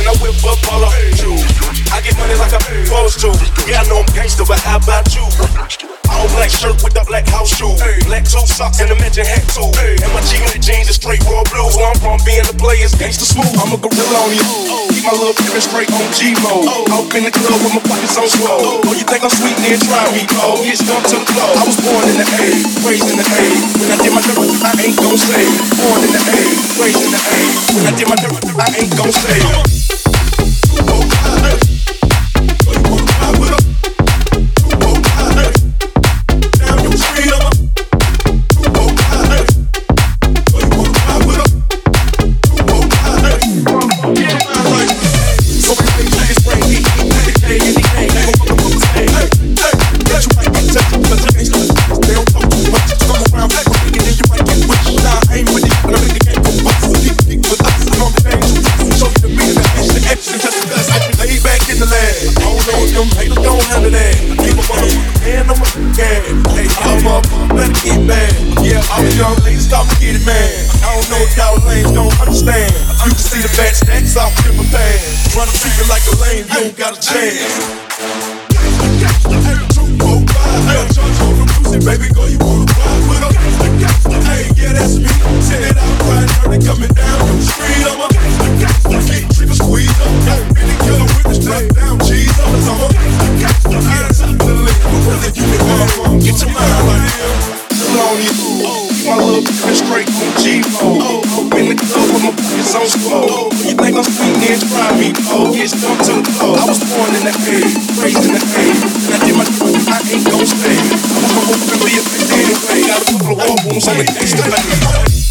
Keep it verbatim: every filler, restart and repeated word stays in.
I whip up all the shoes. I get money like I'm supposed to. Yeah, I know I'm gangster, but how about you? All black shirt with the black house shoe. Black two socks and a mention hat too. And my G Unit jeans is straight raw blues. Where I'm from, being the players gangsta smooth. I'm a gorilla on you. Keep my little pimpin' straight on G mode. Out in the club with my pockets on swole. Oh, you think I'm sweet? Then try me, oh. Get stumped to the floor. I was born in the A, raised in the A. When I did my dirt, I ain't gon' say. Born in the A, raised in the A. When I did my dirt, I ain't gon' say. Baby, go, you wanna ride with her? Hey, yeah, that's me. Send it out, right, dirty, coming down the street. I'm a get trick or squeeze up. Really killer with the strap down, cheese up. I'm a get top of the list. Whether you get one from, get your mind right here. On you, my little bitch straight from G mode. Up in the club with my pockets on swole. You think I'm sweet, then try me, oh. Get stumped to the floor. I was born in the A, raised in the A. When I did my dirt, I ain't gon' stay. I'm gonna be a bitch anyway. Got a couple of war wounds on the gangsta.